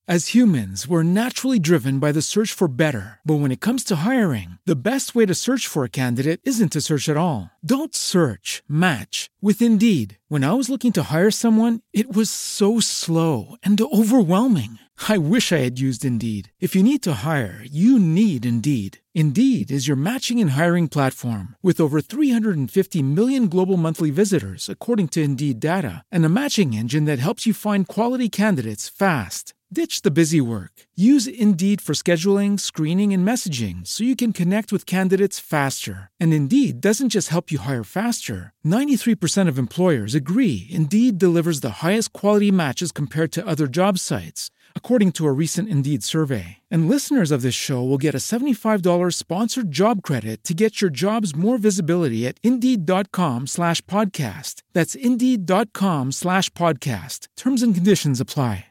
As humans, we're naturally driven by the search for better. But when it comes to hiring, the best way to search for a candidate isn't to search at all. Don't search, match with Indeed. When I was looking to hire someone, it was so slow and overwhelming. I wish I had used Indeed. If you need to hire, you need Indeed. Indeed is your matching and hiring platform with over 350 million global monthly visitors, according to Indeed data, and a matching engine that helps you find quality candidates fast. Ditch the busy work. Use Indeed for scheduling, screening, and messaging so you can connect with candidates faster. And Indeed doesn't just help you hire faster. 93% of employers agree Indeed delivers the highest quality matches compared to other job sites, according to a recent Indeed survey. And listeners of this show will get a $75 sponsored job credit to get your jobs more visibility at Indeed.com/podcast. That's Indeed.com/podcast. Terms and conditions apply.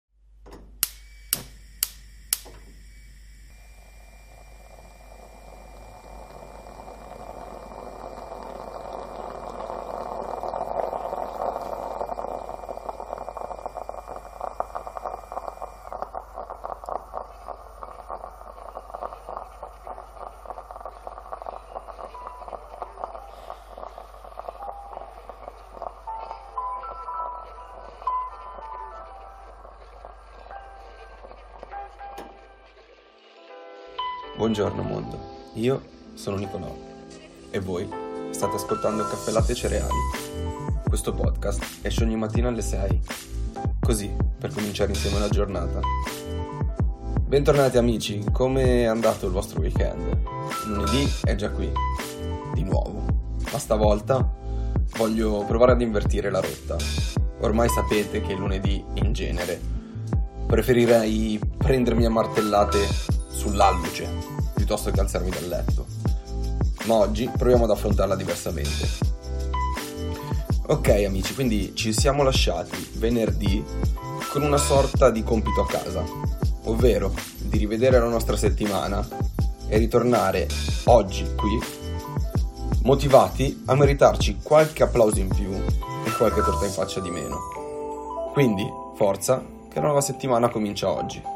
Buongiorno mondo, io sono Nicolò e voi state ascoltando Caffè Latte e Cereali. Questo podcast esce ogni mattina alle 6, così per cominciare insieme la giornata. Bentornati amici, come è andato il vostro weekend? Lunedì è già qui, di nuovo, ma stavolta voglio provare ad invertire la rotta. Ormai sapete che lunedì in genere preferirei prendermi a martellate sull'alluce piuttosto che alzarmi dal letto, ma oggi proviamo ad affrontarla diversamente. Ok amici, quindi ci siamo lasciati venerdì con una sorta di compito a casa, ovvero di rivedere la nostra settimana e ritornare oggi qui motivati a meritarci qualche applauso in più e qualche torta in faccia di meno. Quindi forza, che la nuova settimana comincia oggi.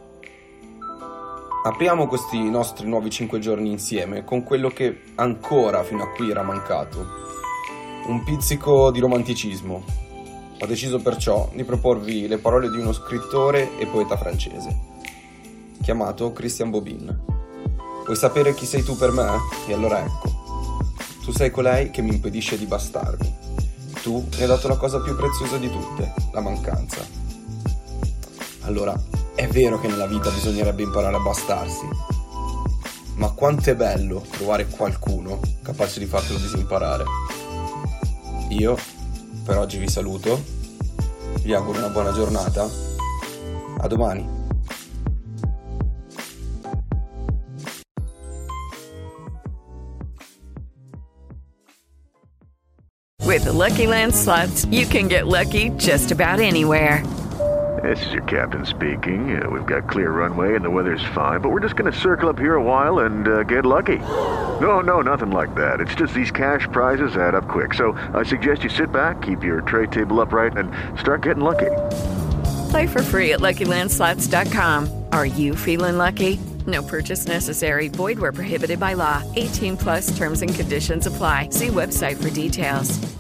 Apriamo questi nostri nuovi 5 giorni insieme con quello che ancora fino a qui era mancato, un pizzico di romanticismo. Ho deciso perciò di proporvi le parole di uno scrittore e poeta francese, chiamato Christian Bobin. Vuoi sapere chi sei tu per me? E allora ecco, tu sei colei che mi impedisce di bastarmi. Tu mi hai dato la cosa più preziosa di tutte, la mancanza. Allora, è vero che nella vita bisognerebbe imparare a bastarsi, ma quanto è bello trovare qualcuno capace di fartelo disimparare. Io per oggi vi saluto, vi auguro una buona giornata, a domani. With the Lucky Land Slots, you can get lucky just about anywhere. This is your captain speaking. We've got clear runway and the weather's fine, but we're just going to circle up here a while and get lucky. No, nothing like that. It's just these cash prizes add up quick. So I suggest you sit back, keep your tray table upright, and start getting lucky. Play for free at LuckyLandSlots.com. Are you feeling lucky? No purchase necessary. Void where prohibited by law. 18+ terms and conditions apply. See website for details.